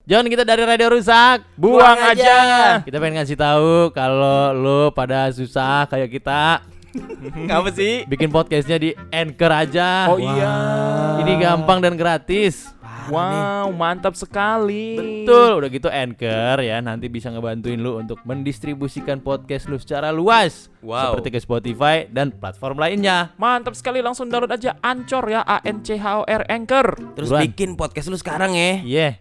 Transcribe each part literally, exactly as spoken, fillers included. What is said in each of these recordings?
Jangan kita dari radio rusak, buang, buang aja. aja. Kita pengen ngasih tahu kalau lo pada susah kayak kita. Ngapa sih? Bikin podcastnya di Anchor aja. Oh iya. Ini gampang dan gratis. Wow, mantap sekali. Betul, udah gitu Anchor ya nanti bisa ngebantuin lu untuk mendistribusikan podcast lu secara luas. Wow. Seperti ke Spotify dan platform lainnya. Mantap sekali, langsung download aja Anchor ya, A N C H O R Anchor. Terus Buruan. bikin podcast lu sekarang ya. Iya. Yeah.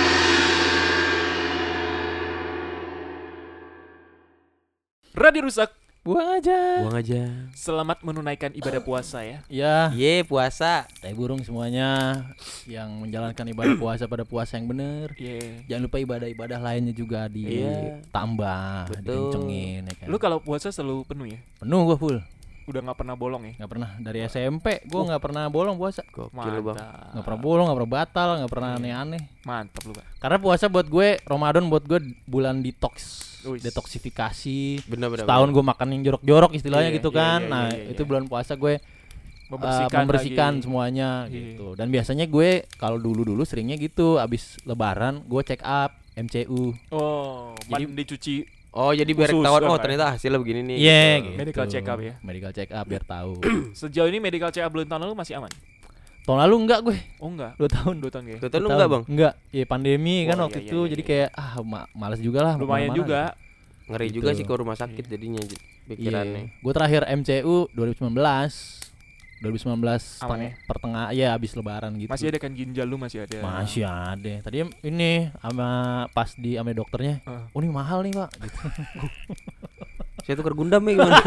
Radio Rusak, buang aja. Buang aja. Selamat menunaikan ibadah puasa ya. Ya. Ye, puasa. Tai burung semuanya yang menjalankan ibadah puasa pada puasa yang benar. Yeah. Jangan lupa ibadah-ibadah lainnya juga ditambah, Betul. dikencengin ya kan. Lu kalau puasa selalu penuh ya? Penuh gua full. Udah nggak pernah bolong ya? Nggak pernah dari S M P gua nggak pernah bolong puasa. Gokil Bang. Nggak pernah bolong, nggak pernah batal, nggak pernah aneh-aneh. Mantap lu, Pak. Karena puasa buat gue, Ramadan buat gue bulan detox. Uish. Detoksifikasi. Benar-benar. Setahun gue makan yang jorok-jorok istilahnya Iya, gitu iya, kan. iya, nah iya, iya. itu bulan puasa gue Membersihkan, uh, membersihkan lagi. semuanya Iya. gitu. Dan biasanya gue kalau dulu-dulu seringnya gitu, abis lebaran gue check up M C U. Oh, Jadi- mandi cuci. Oh, jadi biar Khusus ketahuan dong, oh kan? ternyata hasilnya begini nih. Iya gitu. gitu. Medical check up ya? Medical check up biar tahu. Sejauh ini medical check up bulan tahun lalu masih aman? Tahun lalu enggak gue, Oh enggak. dua tahun. Dua tahun ya. Tuh lu Dua enggak, tahun. Bang? Enggak, ya pandemi kan Oh, waktu iya, itu iya, jadi iya. kayak ah ma- malas juga lah. mau Lumayan kemana-mana juga. Ngeri Gitu. juga sih ke rumah sakit jadinya j- pikirannya. Iya. Gue terakhir M C U dua ribu sembilan belas. dua ribu sembilan belas Aman teng- ya? pertengah ya habis lebaran gitu. Masih ada kan ginjal lu masih ada. Masih ada. Tadi ini sama pas di sama dokternya. Ah. Oh ini mahal nih, Pak gitu. Saya tuker Gundam ya gimana?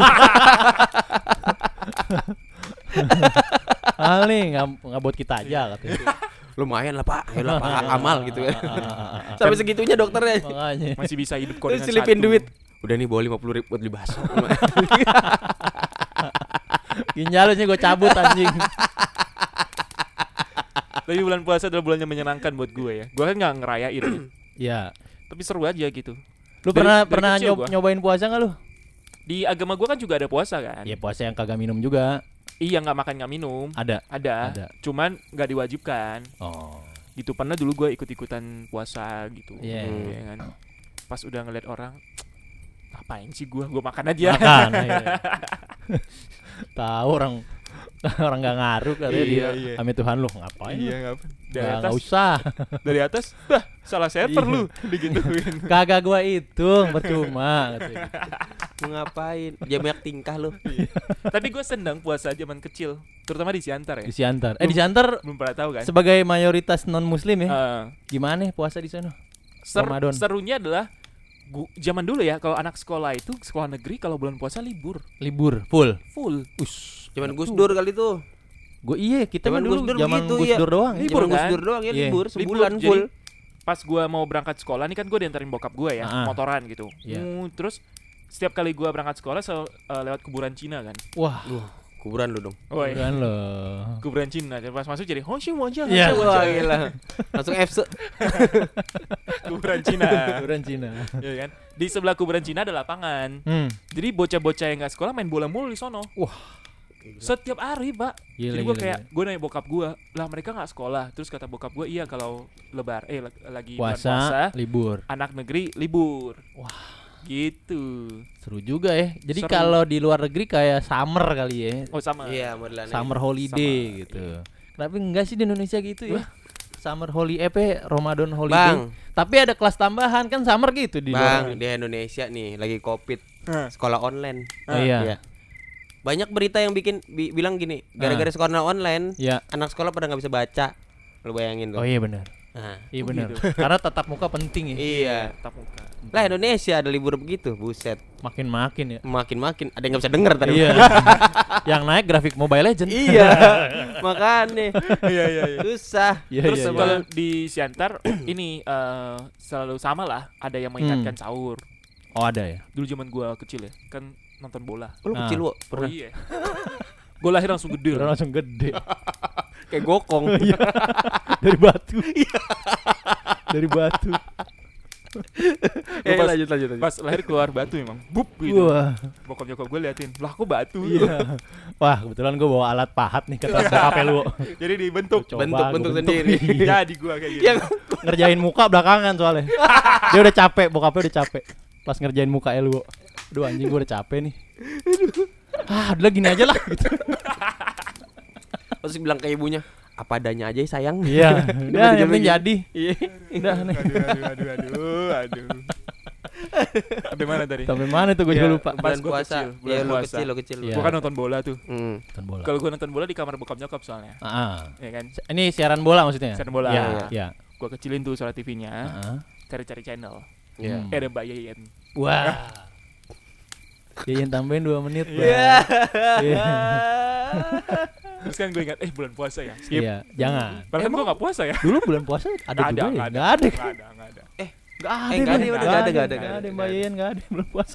Mahal nih, nggak nggak buat kita aja katanya. Lumayan lah, Pak. Ya lah, Pak. Amal gitu ya. Ah, ah, ah, ah. Sampai segitunya dokternya. Makanya. Masih bisa hidup kok Terus dengan selipin satu. duit. Udah nih bawa lima puluh ribu buat beli bakso. Ginjalnya gue cabut anjing. Tapi bulan puasa adalah bulan yang menyenangkan buat gue ya. Gue kan nggak ngerayain, ya. Ya. Tapi seru aja gitu. Lu Dari- pernah dari pernah kecil nyob- gua. nyobain puasa nggak lu? Di agama gue kan juga ada puasa kan. Ya puasa yang kagak minum juga. Iya, nggak makan nggak minum. Ada. Ada. Ada. Cuman nggak diwajibkan. Oh. Gitu pernah dulu gue ikut-ikutan puasa gitu. Iya. Ya kan. Pas udah ngeliat orang, ngapain sih gue? Gue makan aja. Makan. Iya. Tahu orang orang nggak ngaruh katanya Iya, dia. iya. Kami Tuhan lu ngapain? lu? Iya ngapain? Dari Nggak- atas, nggak usah. dari atas, bah salah server Iya. lu, digituin. Kagak gua hitung percuma katanya. Mau ngapain? Dia banyak tingkah lu. Tapi gue senang puasa zaman kecil, terutama di Siantar ya. Di Siantar. Eh di Siantar Belum pernah tahu kan? sebagai mayoritas non muslim ya. Eh, Gimana ya puasa di sana? ser- Ramadan. serunya adalah gu- zaman dulu ya, kalau anak sekolah itu sekolah negeri kalau bulan puasa libur Libur full. full. Us. Cuman Gus Dur kali tuh. Gue iya kita mah Zaman dulu Gus Dur zaman begitu, Gus iya. Dur doang. Libur Cuman Gus kan? Dur doang ya Iya. libur Libur, sebulan jadi full. Pas gue mau berangkat sekolah nih kan gue diantarin bokap gue ya, Ah. motoran gitu. Iya. Uh, terus setiap kali gue berangkat sekolah sel- eh, lewat kuburan Cina kan. Wah, Kuburan lu dong. Oh iya. kan loh. Kuburan Cina. Pas masuk jadi Hongxi Wajah. Iya. Wah gila. Langsung F se. Kuburan Cina. Kuburan Cina. Iya kan? Di sebelah kuburan Cina ada lapangan. Hmm. Jadi bocah-bocah yang nggak sekolah main bola mulu di sono. Wah. Setiap hari, Pak. Gila, Jadi gue gila, kayak gila. gue nanya bokap gue, lah mereka nggak sekolah. Terus kata bokap gue, iya kalau lebar, eh lag- lagi bulan Puasa, puasa, libur. anak negeri libur. Wah. Gitu. Seru juga ya. Jadi Seru. kalau di luar negeri kayak summer kali ya. Oh sama. Iya, modelannya. Summer holiday Sama, gitu. Kenapa enggak sih di Indonesia gitu ya? Summer holiday, eh Ramadan holiday. Bang, Tapi ada kelas tambahan kan summer gitu di luar Bang, negeri. di Indonesia nih lagi Covid, Hah. sekolah online. Oh, iya. Iya. Banyak berita yang bikin bi- bilang gini, gara-gara sekolah online, Iya. anak sekolah pada nggak bisa baca. Lu bayangin tuh. Oh iya benar. Nah, Iya Oh, benar. gitu. Karena tatap muka penting ya. iya. Tatap muka. Lah Indonesia ada libur begitu, buset. Makin-makin ya. Makin-makin ada yang nggak bisa denger tadi. Iya. Yang naik grafik Mobile Legend. Iya. Makanya Iya iya iya. susah. Iya, Terus iya, iya. kalau di Siantar ini eh, selalu sama lah, ada yang mengingatkan Hmm. sahur. Oh ada ya. Dulu zaman gua kecil ya, kan nonton bola. Lu Nah. kecil lu Oh pernah iya. Gua lahir langsung gede. Udah langsung gede. kayak gokong. Dari batu. Dari batu. Eh, pas, lanjut lanjut lanjut. pas lahir keluar batu emang. Bup gitu. Wah. Bokap nyokap gue liatin, lah kok batu? Iya. Wah, kebetulan gue bawa alat pahat nih ke tas bokapnya lu. Jadi dibentuk. Coba Bentuk- gua bentuk bentuk. sendiri. Iya. Jadi gue kayak gitu. Yang Ngerjain muka belakangan soalnya. Dia udah capek, bokapnya udah capek. Pas ngerjain muka lu. Aduh anjing gue udah capek nih. Ah, udah gini aja lah gitu. terus bilang ke ibunya, apa adanya aja ya, sayang. Iya, udah yang penting jadi. Iya. Udah nih. Aduh, aduh, aduh, aduh, aduh. Sampai mana tadi? Sampai mana tuh gue Iya. juga lupa. Pas Bulan gua puasa. kecil, bulan Iya, lu puasa. kecil, lu kecil. Iya. Gue kan nonton bola tuh. Hmm. Nonton bola. Kalau gue nonton bola di kamar bokap nyokap soalnya. Ah. Ya kan? Ini siaran bola maksudnya? Siaran bola. Iya, Iya. iya. Gue kecilin tuh suara T V-nya. Heeh. Cari-cari channel. Iya. Hmm. Eh ada Mbak Yeyen. Wah. Yayan tambahin dua menit. Bang. Iya. Iya. Terus kan gue ingat, eh bulan puasa ya. Skip. Iya, jangan. Padahal kan gue gak puasa ya. Dulu bulan puasa ada Nggak juga ya? nggak Enggak ada. Nggak ada, nggak ada. Eh, Enggak ada. Eh, nggak ada, Bang. nggak ada, Nggak nggak ada, Nggak nggak ada ada. Mbak Yayan, enggak ada bulan puasa.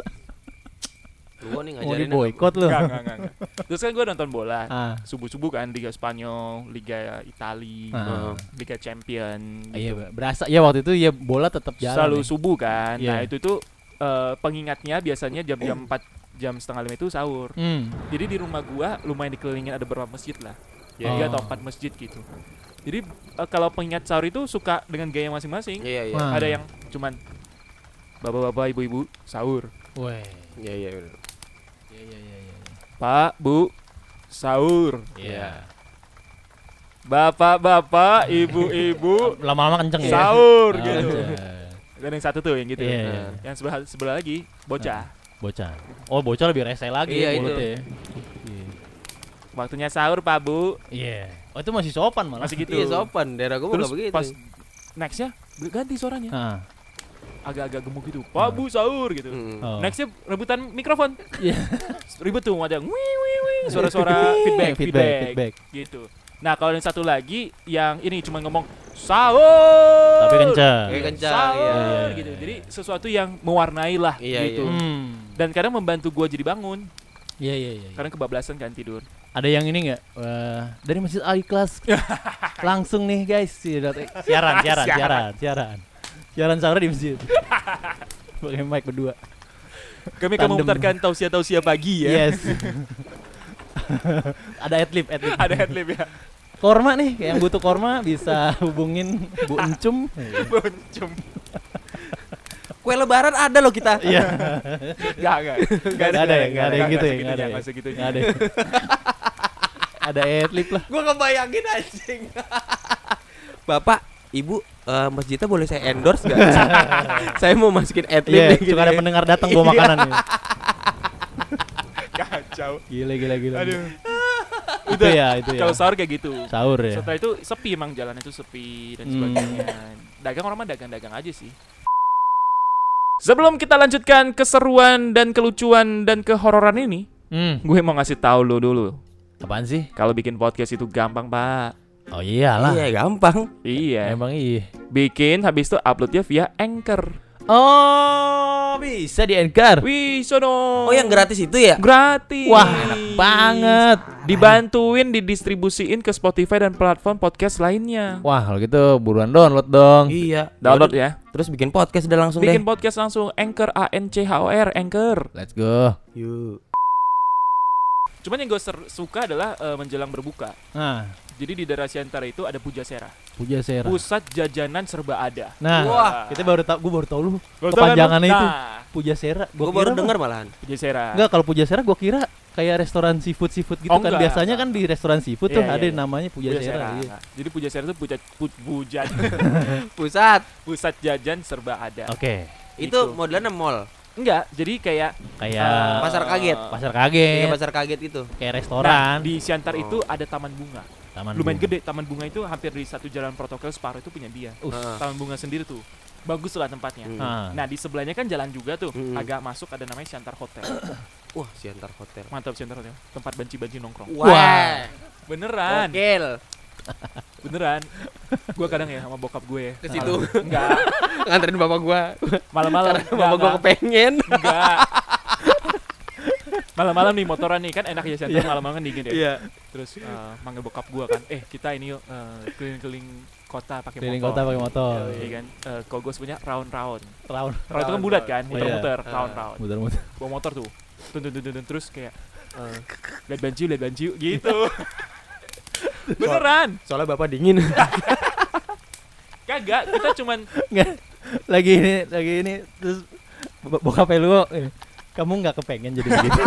lu nih Mau ngajarin. di boykot lu. Enggak, enggak, enggak, enggak. Terus kan gue nonton bola. Ah. Subuh-subuh kan Liga Spanyol, Liga Itali, Ah. Liga Champion Iya, gitu. berasa ya waktu itu ya bola tetap jalan. Selalu ya. subuh kan. Iya. Nah, itu tuh eh, pengingatnya biasanya jam-jam empat jam setengah lima itu sahur. Hmm. Jadi di rumah gua lumayan dikelilingin ada beberapa masjid lah. Iya, Tiga iya. atau empat masjid gitu. Jadi eh, kalau pengingat sahur itu suka dengan gaya masing-masing. Iya, iya. Wah. Ada yang cuman bapak-bapak, ibu-ibu sahur. Weh. Iya, iya, bener. Iya iya iya iya. Pak, Bu, sahur. Iya. Bapak-bapak, ibu-ibu Lama-lama kenceng ya. sahur Ah, gitu. kenceng. Dan yang satu tuh yang gitu. Iya, Nah, iya. Yang sebelah sebelah lagi bocah. Bocah. Oh, bocah lebih rese lagi Iya, ya itu. mulutnya. ya. Iya. Waktunya sahur, Pak, Bu. Iya. Oh, itu masih sopan malah. Masih gitu. Iya, sopan. Daerah gua Terus enggak begitu. pas nextnya ganti suaranya. Ah. Agak-agak gemuk gitu. Pak, Bu, sahur gitu. Hmm. Oh. Nextnya rebutan mikrofon. Iya. Ribet tuh ada wih wih wih suara-suara feedback, feedback, feedback feedback. gitu. Nah, kalau yang satu lagi yang ini cuma ngomong sahur. Tapi kenceng. Kayak kencang, Sahur iya, iya, gitu. iya. Jadi sesuatu yang mewarnai lah Iya, gitu. Hmm. Dan kadang membantu gua jadi bangun Iya iya iya. karena kebablasan kan tidur. Ada yang ini enggak? Wah, dari Masjid Al-Ikhlas. Langsung nih guys, siaran siaran siaran siaran siaran. Siaran sahur di masjid. Pakai mic berdua. Kami akan Tandem. memutarkan tausiah-tausiah pagi ya. Yes. Ada adlib, adlib. Ada headlib ya. Korma nih, kayak yang butuh korma bisa hubungin Bu Encum. Boncum. Kue lebaran ada loh kita. Iya. Enggak, enggak. Enggak ada ya, enggak ada yang gitu ya, enggak ada. Enggak ya. segitunya. Nggak ada. ya. Ada adlib lah. Gua ngebayangin anjing. Bapak, Ibu, eh, masjidnya boleh saya endorse gak? Saya mau masukin adlib Iya, nih gitu suka ada ya. pendengar datang bawa makanan nih. Kacau. Gila gila gila. Aduh. Itu ya, itu ya. Kalau sahur kayak gitu. Sahur ya. Setelah itu sepi emang jalan itu sepi dan Hmm. sebagainya. Dagang orang mah dagang-dagang aja sih. Sebelum kita lanjutkan keseruan dan kelucuan dan kehororan ini, Hmm. gue mau ngasih tahu lo dulu. Apaan sih? Kalau bikin podcast itu gampang, Pak. Oh iyalah. Iya, gampang. Iya. Emang iya. Bikin habis itu uploadnya via Anchor. Oh, bisa di Anchor. Wih, sono. Oh, yang gratis itu ya? Gratis. Wah, enak banget. Dibantuin didistribusiin ke Spotify dan platform podcast lainnya. Wah, kalau gitu buruan download dong. Iya. Download Yaudah, ya. Terus bikin podcast udah langsung Bikin deh. podcast langsung Anchor A N C H O R Anchor. Let's go. Yuk. Cuman yang gue suka adalah eh, menjelang berbuka. Nah, Jadi di daerah Siantara itu ada Pujasera. Pujasera. Pusat jajanan serba ada. Nah, Wah. kita baru tahu, gue baru tahu lu Baru tahu kan lu? kepanjangannya itu. Nah, Pujasera. Gua Gua baru kira dengar malahan. Pujasera. Enggak, kalau Pujasera gua kira kayak restoran seafood seafood gitu Oh, kan. enggak, Biasanya enggak. kan di restoran seafood Iya, tuh iya, ada iya. namanya Pujasera. Iya. Nah, jadi Pujasera itu puja, pu, puja- Pusat. pusat jajan serba ada. Oke. Itu Itu. modelannya mall. Enggak, jadi kayak Kayak eh, Pasar kaget. pasar Kayak kaget, pasar kaget itu. kayak Nah, restoran. di Siantar Oh. itu ada taman bunga. Taman Lumayan bunga. gede, taman bunga itu hampir di satu jalan protokol separuh itu punya dia. Us. Ah. Taman bunga sendiri tuh. Bagus lah tempatnya. Hmm. Ah. Nah, di sebelahnya kan jalan juga tuh. Hmm. Agak masuk ada namanya Siantar Hotel. Wah, Siantar Hotel. Mantap Siantar Hotel. Tempat banci-banci nongkrong. Wah. Beneran. Gokil. Beneran. Gua kadang ya sama bokap gue Ke situ. Enggak. Nganterin bapak gua. Malam-malam. Karena bapak gua kepengen. Enggak. Malam-malam nih motoran nih kan enak ya Siantar malam-malam kan dingin ya. Iya. Terus eh, manggil bokap gua kan, eh kita ini yuk eh, keliling-keliling kota pakai Keliling motor. kota pakai motor. Iya kan. Eh, kalau gue sebenarnya round-round. Round. Round itu kan bulat kan, Iya. muter-muter, Iya. round-round. Muter-muter. Bawa motor tuh. Tun tun tun tun, tun, terus kayak eh, lihat banci, lihat banci gitu. Beneran. Soalnya bapak dingin. Kagak, kita cuman Nggak, lagi ini, lagi ini terus bo- bokapnya lu, eh, kamu nggak kepengen jadi begitu.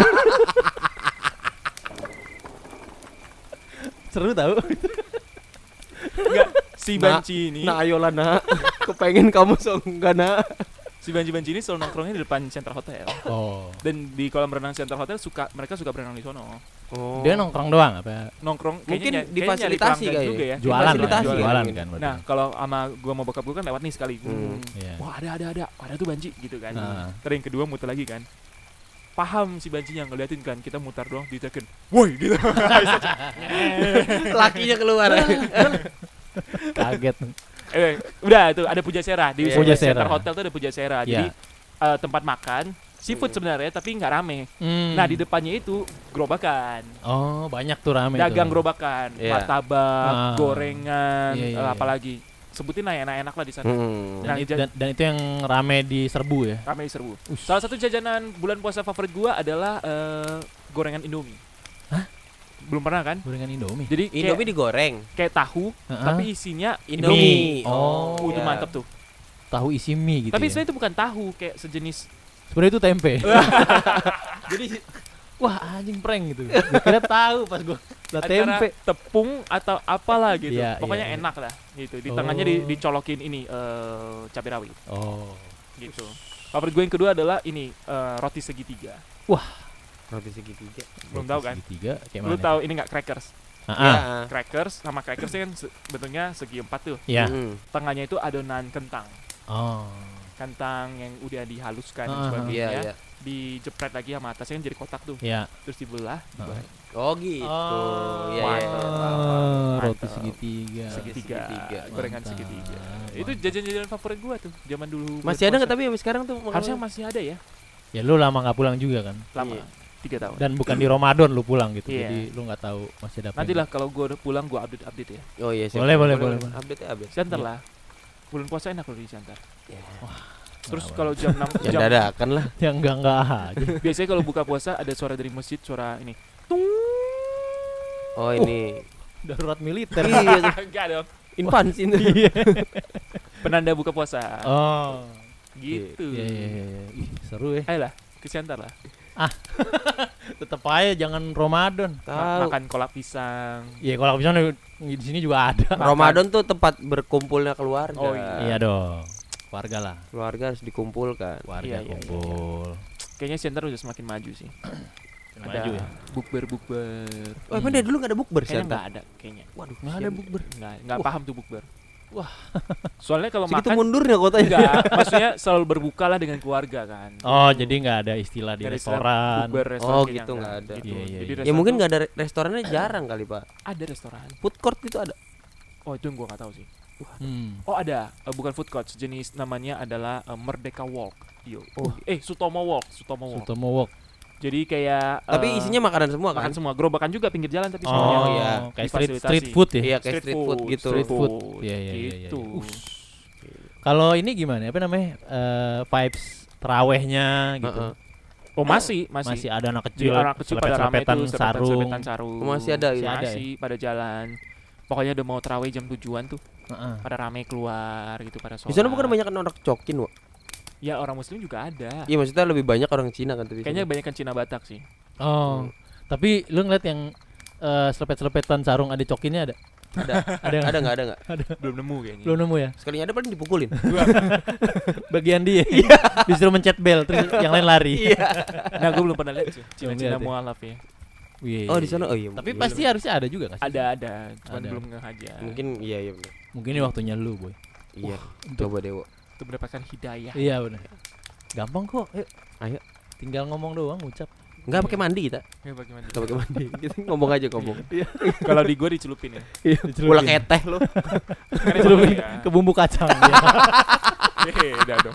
Seru tau. enggak si Nak, banci ini. Nah ayolah nak. Kepengen kamu so enggak nak. Si banci-banci ini selalu nongkrongnya di depan Center Hotel. Oh. Dan di kolam renang Center Hotel suka mereka suka berenang di sono. Oh. Dia nongkrong doang apa? Nongkrong Mungkin kayaknya ny- kayaknya nyari difasilitasi pelanggan kali juga ya. Jualan lah, Fasilitasi jualan, ya, kan mungkin. berarti. Nah, kalau sama gua mau bokap gua kan lewat nih sekali. Hmm. Iya. Wah, ada ada ada. Ada tuh banci gitu kan. Nah. Terus yang kedua muter lagi kan. Paham si bancinya ngeliatin kan, kita mutar doang ditekan. Woi gitu. Lakinya keluar. Kaget. eh, udah tuh ada Pujasera di Iya. Pujasera. Center Hotel tuh ada Pujasera. Iya. Jadi eh, tempat makan seafood sebenarnya tapi nggak rame. Hmm. Nah, di depannya itu gerobakan. Oh, banyak tuh rame Dagang tuh. gerobakan, Iya. martabak, Ah. gorengan, Iya, iya, eh, iya. apalagi. Sebutin lah yang enak-enak lah di sana. Hmm. Dan, Nah, itu, ja- dan, dan itu yang rame di serbu ya. Rame serbu. Salah satu jajanan bulan puasa favorit gua adalah eh, gorengan Indomie. Hah? Belum pernah kan? Gorengan Indomie. Jadi kayak, Indomie digoreng. kayak tahu Heeh. tapi isinya Indomie. Oh, Uh, itu iya. mantep tuh. tahu isi mie gitu. Tapi ya. sebenarnya itu bukan tahu, kayak sejenis Sebenarnya itu tempe. Jadi wah anjing prank gitu. Gua kira tahu pas gua lah antara tempe. tepung atau apalah gitu. Iya, Pokoknya iya, iya. enak lah gitu. Di Oh. tengahnya di, dicolokin ini eh cabai rawit Oh. gitu. Favorit gue yang kedua adalah ini eh, roti segitiga. Roti segitiga. Belum tahu kan? Segitiga kayak Lu mana? tahu ini nggak crackers? Ah, Iya. ah. Crackers sama crackers kan se- bentuknya segi empat tuh. Iya. Hmm. Tengahnya itu adonan kentang. Oh. Kentang yang udah dihaluskan dan Ah, sebagainya. Iya, iya. Dijepret lagi sama atasnya kan jadi kotak tuh. Ya. Terus dibelah, digoreng. Oh gitu. Oh, Iya, iya. mantap. Oh, roti Mantap. segitiga. Segitiga, segitiga. gorengan Mantap. segitiga. Itu Mantap. jajan-jajan favorit gua tuh zaman dulu. Masih ada nggak tapi sampai sekarang tuh? Harusnya masih ada ya, Ya lu lama nggak pulang juga kan? lama. Iya. Tiga tahun. Dan bukan di Ramadan lu pulang gitu. Iya. Jadi lu nggak tahu masih ada apa. Nanti lah kalau gua udah pulang gua update-update ya. Oh iya. siap. Boleh, boleh, boleh, boleh. Update ya update. Center Iya. lah. Bulan puasa enak kalau di Center. Terus Wah, kalau jam enam Ya jam dadakan lah. yang enggak enggak aja. biasanya kalau buka puasa ada suara dari masjid, suara ini. Tung. Oh ini. Darurat militer. Iya. Enggak dong. Infans itu. Iya. Penanda buka puasa. Oh. Gitu. Iya, iya, iya, iya. Ih, seru ya. Ayolah, ke Center lah. Tetep aja jangan Ramadan. Ma- Tahu. makan kolak pisang. Iya, kalau bisa di sini juga ada. Ramadan tuh tempat berkumpulnya keluarga. Oh, iya. Iya dong. Warga lah. Keluarga harus dikumpulkan. Warga Iya, iya, iya, kumpul. Kayaknya Center udah semakin maju sih. Maju Ada ya. bukber bukber. Oh, emang dari dulu nggak ada bukber Kayaknya Santa? nggak ada kayaknya. Waduh, Nggak ada bukber. Nggak nggak Wah. paham tuh bukber. Wah. Soalnya kalau Segitu makan mundurnya kotanya. enggak, maksudnya selalu berbuka lah dengan keluarga kan. Oh, jadi nggak ada istilah di Nggak ada istilah restoran. bukber, restoran Oh, kayaknya gitu, nggak ada. Gitu. Iya, iya, Jadi iya. Ya restoran mungkin tuh nggak ada restorannya jarang kali pak. ada restoran. Food court itu ada. Oh, itu yang gua nggak tahu sih. Hmm. Oh, ada. Eh, bukan food court, sejenis namanya adalah eh, Merdeka Walk. Yo. Oh. Eh, Sutomo Walk, Sutomo Walk. Sutomo Wok. Jadi kayak Tapi eh, isinya makanan semua kan? makan semua, gerobakan juga pinggir jalan tapi Oh, semuanya. iya. kayak street Difasilitasi. street food ya. Iya kayak street food gitu. Street food. Iya, iya, iya, iya. Gitu. Ush. Kalau ini gimana? Apa namanya? Eh, vibes terawehnya gitu. Heeh. Oh, masih, masih. Masih ada anak Jadi kecil, anak kecil pada rame selepet-selepetan tuh, sarung. selepetan sarung. Oh, masih ada Masih, gitu? Ada masih pada jalan. Pokoknya udah mau terawih jam tujuan tuh, Heeh. pada rame keluar gitu pada sholat. Di sana bukan banyak orang cokin, Wak? Ya orang muslim juga ada. Iya maksudnya lebih banyak orang Cina kan tapi. Kayaknya banyak kan Cina Batak sih. Oh. Tapi lu ngeliat yang eh, selepet-selepetan sarung ada cokinnya ada? ada. Ada nggak? Ada nggak ada nggak? Belum nemu kayaknya. Belum nemu ya? Sekalinya ada paling dipukulin. Bagian dia. Disuruh mencet bel terus yang lain lari. Iya. Nah, gue belum pernah lihat sih. Belum Cina-Cina lihat ya? mualaf ya. Iya, Oh iya, di sana iya. oh iya. Tapi mungkin- pasti harusnya ada juga nggak sih? Ada ada, cuman Ada. belum ngehajar. mungkin iya iya benar. Mungkin ini waktunya lu, boy. Iya. untuk- Coba Dewo. Untuk mendapatkan hidayah. Iya benar. Gampang kok. Ayo. Ayo. Tinggal ngomong doang, ngucap. Enggak pakai mandi kita. Ya, bagaimana? Enggak pakai mandi. Kita ngomong aja ngomong. Kalau di gua dicelupin ya. Bola keteh lu. Kan emang Celupin iya. ke bumbu kacang dia. Beda dong.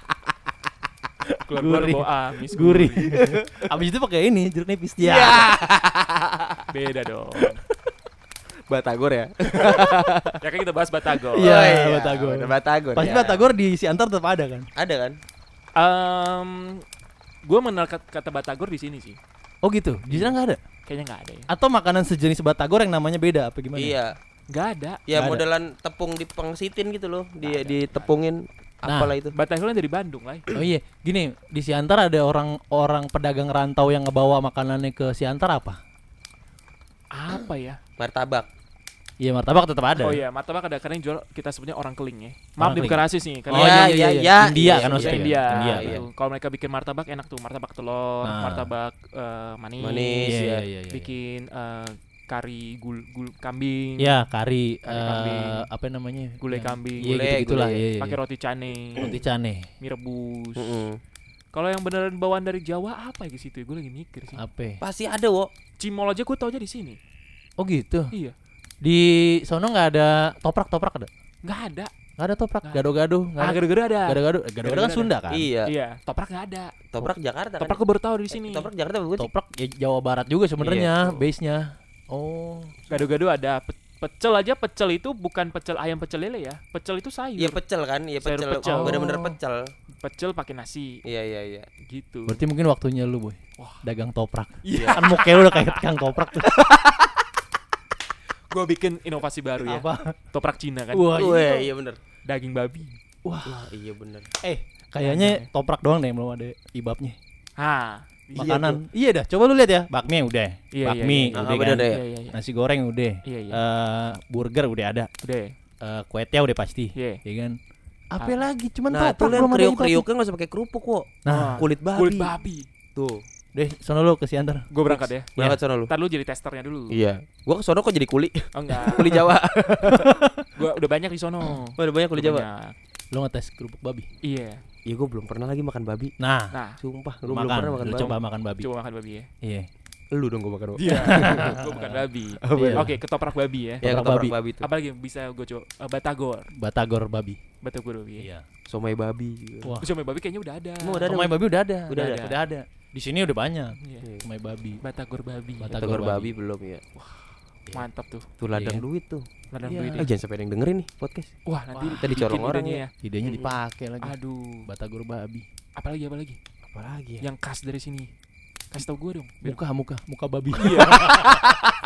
Keluar-keluar Gurih. bawa amis. Gurih. Abis itu pakai ini jeruk nipis dia. Beda dong. Batagor ya. Ya kan kita bahas Batagor. Iya, Oh, iya, Batagor. bener, Batagor. Pasti ya. Batagor di Siantar tetap ada kan? Ada kan? Um, gue mengenal kata, kata Batagor di sini sih. Oh gitu. Di sana nggak ada. Kayaknya nggak ada ya. Atau makanan sejenis Batagor yang namanya beda apa gimana? Iya. Nggak ada. Ya Nggak ada. modelan tepung dipangsitin gitu loh. Di Nggak ada, ditepungin Nah. apalah itu. Batagor kan dari Bandung lah. Oh iya, gini di Siantar ada orang-orang pedagang rantau yang ngebawa makanannya ke Siantar apa? Apa ya? Martabak. Iya martabak tetap ada. Oh iya, martabak ada karena yang jual kita sebutnya orang keling ya. Orang Maaf nih keling. bukan rasis nih, karena Oh, iya, iya, iya. India Iya, kan iya, maksudnya. India. India, iya. gitu. Kalau mereka bikin martabak enak tuh, martabak telur, Nah. martabak eh, manis, Manis, Iya, ya. iya, iya, iya. bikin eh, kari gul, gul kambing, Ya kari, Kari eh, kambing. apa namanya? Gulai Yang- kambing. Iya Gulai, gitu gitulah. gulai. Iya, iya, pakai iya. roti cane, Roti cane. mie rebus. Mm-mm. Kalau yang beneran bawaan dari Jawa apa ya ke situ? Gue lagi mikir sih. Apa? Pasti ada, wo. Cimol aja gue tau aja di sini. Oh gitu. Iya, Di sono nggak ada toprak toprak ada? nggak ada. Nggak ada toprak. Nggak ada. Gado-gado. nggak Ah, ada. gado-gado ada. Gado-gado. Eh, Gado-gado kan Gado-gado Sunda kan? Iya. Iya, toprak nggak ada. Toprak Jakarta kan? Toprak gue baru tahu di sini. Toprak Jakarta bukan sih? Toprak ya Jawa Barat juga sebenarnya Iya. base-nya. Oh. Gado-gado ada. Pe- pecel aja, pecel itu bukan pecel ayam pecel lele ya. Pecel itu sayur. Iya pecel kan? Iya Sayur pecel. pecel. Oh, bener-bener Oh. pecel. Pecel pakai nasi Iya, iya, iya. gitu. Berarti mungkin waktunya lu, Boy. Wah. Dagang toprak. Iya. Kan muka lu udah kayak tukang toprak tuh. Gue bikin inovasi baru ya. Apa? Toprak Cina kan. Wah, Wah, iya bener. Daging babi. Wah. Wah, iya bener. Eh, kayaknya toprak doang deh belum ada ibabnya. Ha. Iya Makanan. Iya dah, coba lu lihat ya. Bakmi udah. Iya, Bakmi iya, iya. udah Ah, kan. bener deh. Iya, iya, iya. Nasi goreng udah. Iya, iya. Eh, burger udah ada. Udah. Eh, kue tiaw udah pasti. Iya. Ya kan? Apa Ah. lagi? Cuman Nah, tuh toprak lihat belum ada ibabnya. kriuk-kriuknya enggak usah pakai kerupuk, wo. Nah, Kulit babi. Kulit babi. Tuh. deh, sono lu ke Siantar. Gue berangkat ya. Berangkat sono lu. Ntar lu jadi testernya dulu. Iya. Gua ke sono kok jadi kuli. Oh enggak. Kuli Jawa. Gue udah banyak di sono. Oh, udah banyak kuli Udah Jawa. banyak. Lu ngetes kerupuk babi. Iya. Iya, gua belum pernah lagi makan babi. Nah, Nah, Sumpah, gua belum makan. pernah makan Lu babi. coba makan babi. coba makan babi ya. Iya. Lu dong gua makan. Wo. Iya. Gue bukan babi. Oh, Iya. Oke, ketoprak babi ya. Ya, Ketoprak ketoprak babi. babi tuh. Apa lagi yang bisa gue coba? Eh, batagor. Batagor babi. Batagor babi. Ya. Iya. Somai babi. Wah. Somai babi kayaknya udah ada. Emang udah ada? Somai babi udah ada. Udah ada. Udah ada. Di sini udah banyak. Iya. Somai babi. Batagor babi. Batagor Batagor babi babi. belum ya. Mantap tuh. Tuh ladang Iya. duit tuh. Ladang Iya. duit Eh, ya. jangan sampai ada yang dengerin nih podcast. Wah, nanti Wah, tadi bikin corong orang idenya ya. Idenya Mm-mm. dipakai lagi. Aduh. Batagor babi. Apalagi apa lagi? Apalagi ya? Yang khas dari sini. Kasih tau gue dong. Biar- Muka muka muka babi. Iya.